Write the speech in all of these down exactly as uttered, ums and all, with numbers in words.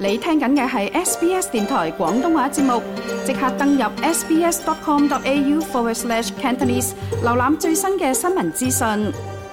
你聽緊嘅係 S B S 電台廣東話節目，即刻登入 sbs.com.au forward slash Cantonese， 瀏覽最新嘅新聞資訊。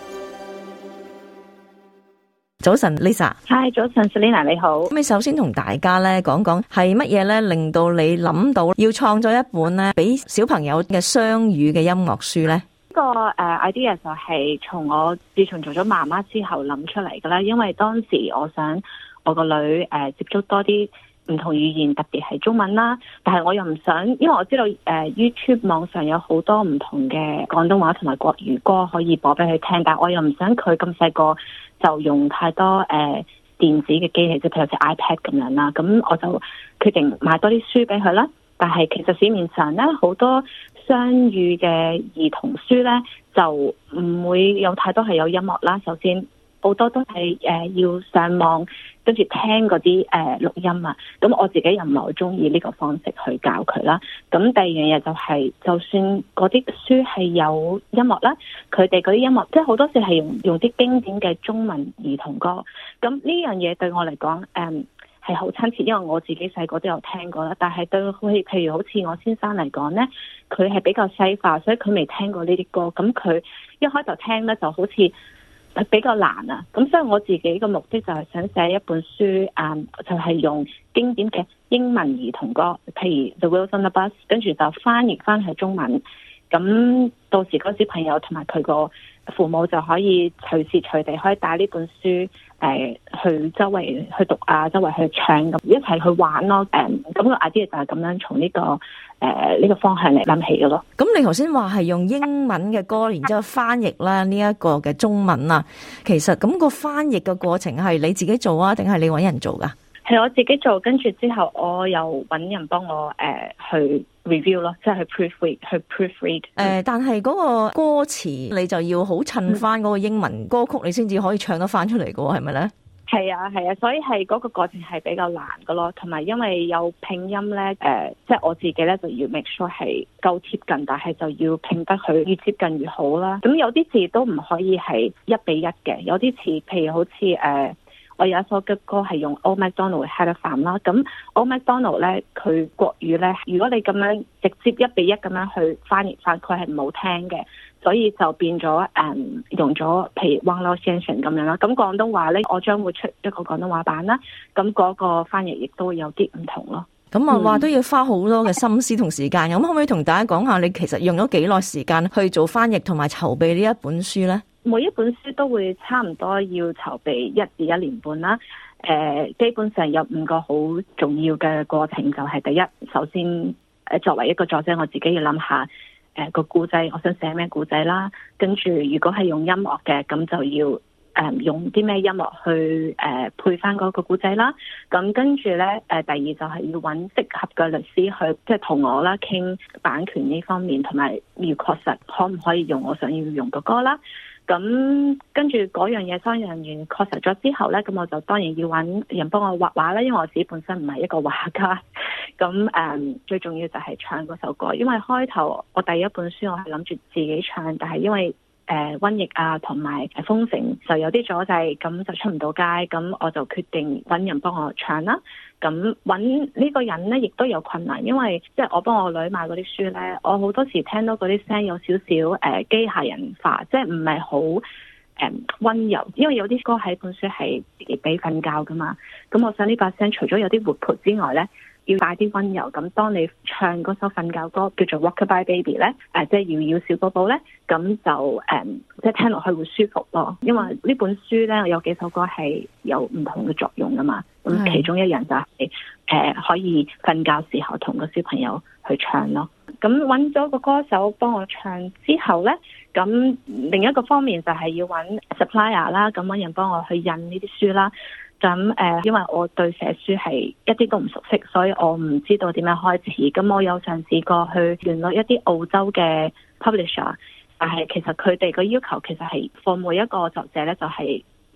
早晨 Lisa。 Hi， 早晨 Selina， 你好。 咁你首先同大家咧講講係乜嘢咧令到你諗到要創作一本咧俾小朋友嘅雙語嘅音樂書咧？ 呢個誒 idea 就係從我自從做咗媽媽之後諗出嚟㗎啦，因為當時我想我個女誒接觸多啲唔同語言，特別係中文啦，但係我又唔想，因為我知道誒 YouTube 網上有好多唔同嘅廣東話同埋國語歌可以播俾佢聽，但係我又唔想佢咁細個就用太多誒、呃、電子嘅機器，即係譬如好似 iPad 咁樣啦。咁我就決定買多啲書俾佢啦。但係其實市面上咧好多雙語嘅兒童書咧，就唔會有太多係有音樂啦。首先好多都係誒、呃、要上網跟住聽嗰啲誒錄音啊。咁我自己又唔係好中意呢個方式去教佢啦。咁第二樣嘢就係、是，就算嗰啲書係有音樂啦，佢哋嗰啲音樂即係好多時係用用啲經典嘅中文兒童歌。咁呢樣嘢對我嚟講誒係好親切，因為我自己細個都有聽過啦。但係對佢譬如好似我先生嚟講咧，佢係比較西化，所以佢未聽過呢啲歌。咁佢一開頭聽咧就好似比較難啊。咁所以我自己嘅目的就係想寫一本書，嗯，就係、是、用經典嘅英文兒童歌，譬如 The Wheels on the Bus， 跟住就翻譯翻去中文。咁到時嗰小朋友同埋佢個父母就可以隨時隨地可以帶呢本書誒、呃、去周圍去讀啊，周圍去唱咁一齊去玩咯。誒咁個 idea 就係咁樣從呢、這個誒呢、呃這個方向嚟諗起嘅咯。 咁你頭先話係用英文嘅歌，然之後翻譯啦呢一個嘅中文啊，其實咁個翻譯嘅過程係你自己做啊，定係你搵人做噶？ 係我自己做，跟住之後我又搵人幫我誒、呃、去 review 咯，即係去 proofread 去 proofread。誒、 呃，但係嗰個歌詞你就要好襯翻嗰個英文歌曲，你先至可以唱得翻出嚟噶喎，係咪咧？係啊係啊，所以係嗰個過程係比較難噶咯，同埋因為有拼音咧，誒、呃，即係我自己咧就要 make sure 係夠貼近，但係就要拼得佢越接近越好啦。咁有啲字都唔可以係一比一嘅，有啲詞譬如好似誒。呃我有一首嘅歌係用 Old MacDonald Had a Farm 啦，咁 Old MacDonald 咧佢國語咧，如果你咁樣直接一比一咁樣去翻譯翻，佢係唔好聽嘅，所以就變咗誒、嗯、用咗譬如汪老先生咁樣啦。咁廣東話咧，我將會出一個廣東話版啦，咁嗰個翻譯亦都會有啲唔同咯。咁啊話都要花好多嘅心思同時間，咁、嗯、可唔可以同大家講下你其實用咗幾耐時間去做翻譯同埋籌備呢一本書咧？ 每一本書都會差唔多要籌備一至一年半啦。誒、呃，基本上有五個好重要嘅過程，就係、是、第一，首先誒作為一個作者，我自己要諗下誒、呃、個故仔，我想寫咩故仔啦。跟住如果係用音樂嘅，咁就要誒、呃、用啲咩音樂去誒、呃、配翻嗰個故仔啦。咁跟住咧，誒、呃、第二就係要揾適合嘅律師去即係同我啦傾版權呢方面，同埋要確實可唔可以用我想要用嘅歌啦。咁跟住嗰樣嘢商業人員確實咗之後咧，咁我就當然要揾人幫我畫畫啦，因為我自己本身唔係一個畫家。咁誒、嗯、最重要就係唱嗰首歌，因為開頭我第一本書我係諗住自己唱，但係因為誒瘟疫啊同埋封城就有啲阻滯，咁就出唔到街，咁我就決定揾人幫我唱啦。咁揾呢個人咧，亦都有困難，因為即係我幫我女買嗰啲書咧，我好多時聽到嗰啲聲有少少誒機械人化，即係唔係好誒溫柔，因為有啲歌喺本書係自己俾瞓覺噶嘛。咁我想呢把聲除咗有啲活潑之外咧，要帶啲溫柔。咁當你唱嗰首瞓覺歌叫做 Rockabye Baby 咧，誒、呃、即係搖搖小寶寶咧，咁就誒、嗯、即係聽落去會舒服咯。因為呢本書咧有幾首歌係有唔同嘅作用噶嘛。咁其中一樣就係、是、誒、呃、可以瞓覺時候同個小朋友去唱咯。咁揾咗個歌手幫我唱之後咧，咁另一個方面就係要揾 supplier 啦，咁揾人幫我去印呢啲書啦。咁誒、呃，因為我對寫書係一啲都唔熟悉，所以我唔知道點樣開始。咁我有嘗試過去聯絡一啲澳洲嘅 publisher， 但係其實佢哋個要求其實係 for 每一個作者咧，就係、是、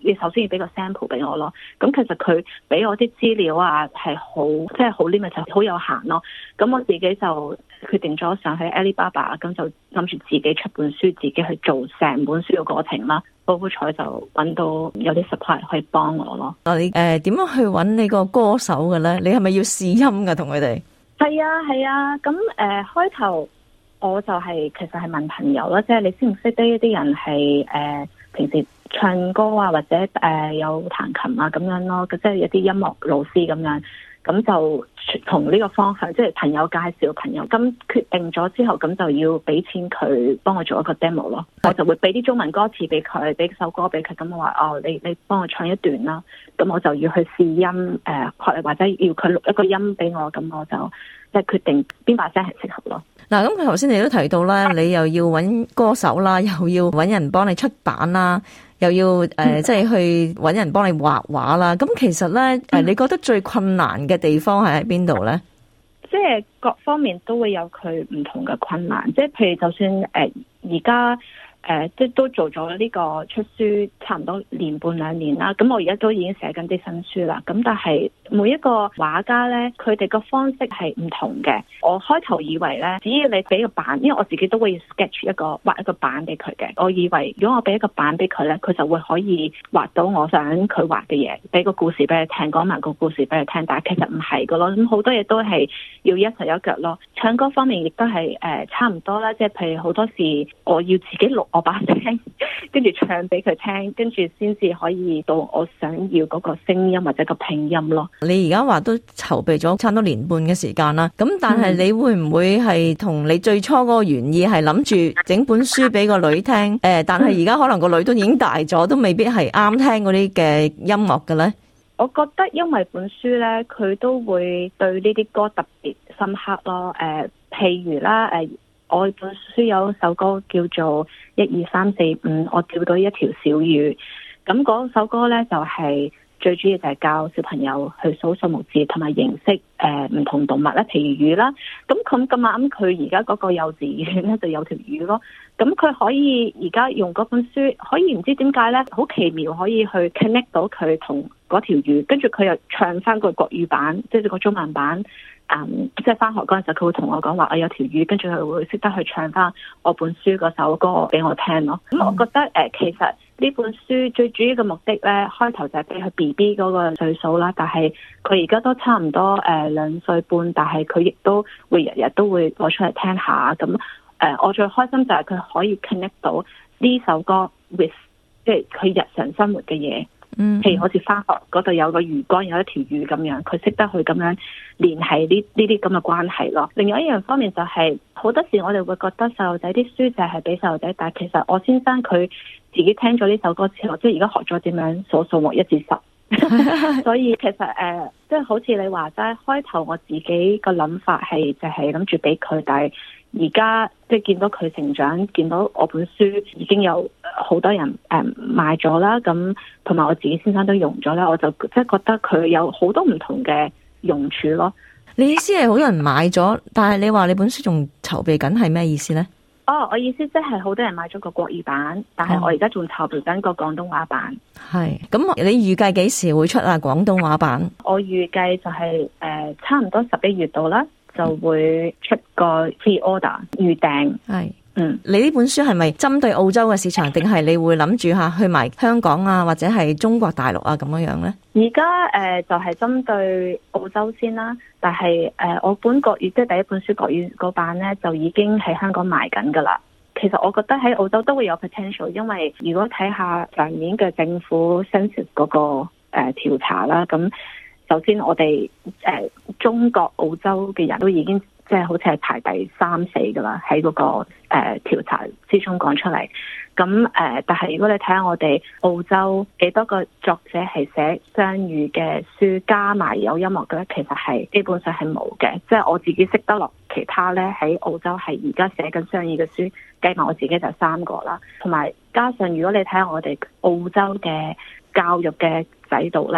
你首先要俾個 sample 俾我咯。咁其實佢俾我啲資料啊係好即係好 limit， 好有限咯。咁我自己就決定咗上去 Alibaba， 咁就諗住自己出本書，自己去做成本書嘅過程啦。好好彩就揾到有啲 supply 可以幫我咯。 你誒點樣去揾你個歌手嘅咧？你係咪要試音㗎同佢哋？ 係啊係啊，咁誒、呃、開頭我就係、是、其實係問朋友啦，即係你識唔識得一啲人係誒、呃、平時唱歌啊或者誒、呃、有彈琴啊咁樣咯，即係有啲音樂老師咁樣。咁就從呢個方向，即係朋友介紹朋友，咁決定咗之後，咁就要俾錢佢幫我做一個 demo 咯。我就會俾啲中文歌詞俾佢，俾首歌俾佢，咁我話哦，你你幫我唱一段啦。咁我就要去試音，誒、呃，或者要佢錄一個音俾我，咁我就即係決定邊把聲係適合咯。 嗱，咁佢頭先你都提到啦，你又要揾歌手啦，又要揾人幫你出版啦，又要誒，即、呃、係、就是、去揾人幫你畫畫啦。咁其實咧，誒、嗯，你覺得最困難嘅地方係喺邊度咧？ 即係各方面都會有佢唔同嘅困難。即係譬如，就算誒而家。誒、呃，即係都做咗呢個出書差唔多年半兩年啦。咁我而家都已經寫緊啲新書啦。咁但係每一個畫家呢，佢哋個方式係唔同嘅。我開頭以為呢，只要你俾個版，因為我自己都會 sketch 一個畫一個版俾佢嘅。我以為如果我俾一個版俾佢呢，佢就會可以畫到我想佢畫嘅嘢，俾個故事俾佢聽，講埋個故事俾佢聽。但係其實唔係噶咯。咁好多嘢都係要一手一腳咯。唱歌方面亦都係誒差唔多啦。即係譬如好多時我要自己錄我把聲，跟住唱俾佢聽，跟住先至可以到我想要嗰個聲音或者個拼音咯。 你而家話都籌備咗差唔多年半嘅時間啦，咁但係你會唔會係同你最初嗰個原意係諗住整本書俾個女聽？誒、呃，但係而家可能個女都已經大咗，都未必係啱聽嗰啲嘅音樂嘅咧。 我覺得因為本書咧，佢都會對呢啲歌特別深刻咯。誒、呃，譬如啦，誒、呃。我本書有首歌叫做一二三四五，我釣到一條小魚。咁嗰首歌呢，就係、是、最主要就係教小朋友去數數目字同埋認識誒唔同動物啦，譬如魚啦。咁咁咁啱，佢而家嗰個幼稚園呢就有條魚咯。咁佢可以而家用嗰本書，可以唔知點解呢，好奇妙可以去 connect 到佢同嗰條魚，跟住佢又唱翻個國語版，即係個中文版。嗯，即係翻學嗰陣時，佢會同我講話，我有條魚，跟住佢會識得去唱翻我本書嗰首歌俾我聽咯。咁、嗯、我覺得誒、呃，其實呢本書最主要嘅目的咧，開頭就係俾佢 B B 嗰個歲數啦，但係佢而家都差唔多誒兩歲半，但係佢亦都會日日都會攞出嚟聽下。咁誒、呃，我最開心就係佢可以 connect 到呢首歌 with 即係佢日常生活嘅嘢。嗯，譬如好似翻學嗰度有個魚缸，有一條魚咁樣，佢識得去咁樣聯繫呢呢啲咁嘅關係咯。另外一樣方面就係、是、好多時我哋會覺得細路仔啲書就係俾細路仔，但係其實我先生佢自己聽咗呢首歌之後，即係而家學咗點樣數數目一至十，所以其實誒，即、呃、係、就是、好似你話齋，開頭我自己個諗法係就係諗住俾佢，但係而家即係見到佢成長，見到我本書已經有好多人誒、呃、買咗啦，咁同埋我自己先生都用咗啦，我就即係覺得佢有好多唔同嘅用處咯。 你意思係好多人買咗，但係你話你本書仲籌備緊係咩意思呢？ 哦，我意思即係好多人買咗個國語版，但係我而家仲籌備緊個廣東話版。係， 咁你預計幾時會出啊？廣東話版？ 我預計就係、是、誒、呃、差唔多十一月度啦。就會出個 pre-order 預訂。係，嗯，你呢本書係咪針對澳洲嘅市場，定係你會諗住吓去埋香港啊，或者係中國大陸啊咁樣樣咧？ 而家誒就係、是、針對澳洲先啦，但係誒、呃、我本國語即係第一本書國語嗰版咧，就已經喺香港賣緊噶啦。其實我覺得喺澳洲都會有 potential， 因為如果睇下上年嘅政府 census 嗰個誒調查啦，咁。首先我哋誒、呃、中國澳洲嘅人都已經即係好似係排第三四噶啦，喺嗰、那個誒、呃、調查之中講出嚟。咁誒、呃，但係如果你睇下我哋澳洲幾多個作者係寫雙語嘅書，加埋有音樂嘅咧，其實係基本上係冇嘅。即係我自己識得落，其他咧喺澳洲係而家寫緊雙語嘅書，計埋我自己就三個啦。同埋加上如果你睇下我哋澳洲嘅教育嘅制度咧。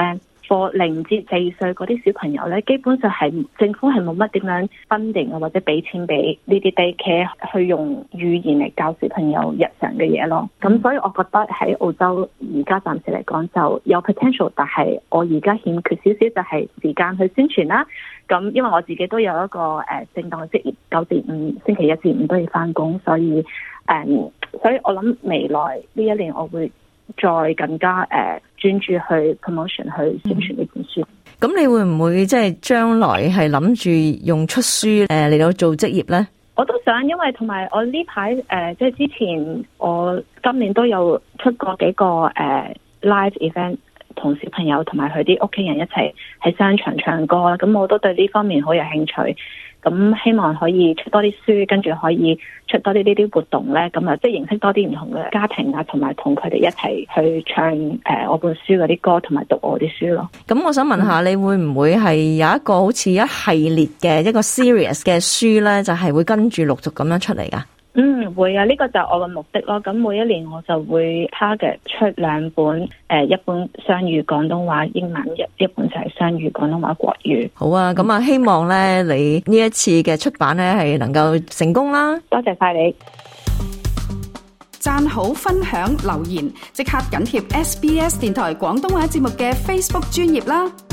課零至四歲嗰啲小朋友咧，基本上係政府係冇乜點樣分定啊，或者俾錢俾呢啲 daycare 去用語言嚟教小朋友日常嘅嘢咯。咁所以我覺得喺澳洲而家暫時嚟講就有 potential， 但係我而家欠缺少少就係時間去宣傳啦。咁因為我自己都有一個誒正當嘅職業，九至五星期一至五都要翻工，所以誒、嗯，所以我諗未來呢一年我會再更加誒、呃、專注去 promotion 去宣傳呢本書。 咁、嗯、你會唔會即係將來係諗住用出書誒嚟到做職業呢？ 我都想，因為同埋我呢排誒即係之前我今年都有出過幾個誒、呃、live event。同小朋友同埋佢啲屋企人一齊喺商場唱歌啦，咁我都對呢方面好有興趣，咁希望可以出多啲書，跟住可以出多啲呢啲活動咧，咁啊即係認識多啲唔同嘅家庭啊，同埋同佢哋一齊去唱誒、呃、我本書嗰啲歌，同埋讀我啲書咯。咁我想問下，你會唔會係有一個好似一系列嘅一個 series 嘅書咧，就係、是、會跟住陸續咁樣出嚟噶？ 嗯，會啊，呢、這個就係我嘅目的咯。咁每一年我就會 target 出兩本，誒、呃，一本雙語廣東話英文，一一本就係雙語廣東話國語。 好啊，咁啊，希望咧你呢一次嘅出版咧係能夠成功啦。 多謝晒你， 讚好、分享、留言，即刻緊貼 S B S 電台廣東話節目嘅 Facebook 專頁啦。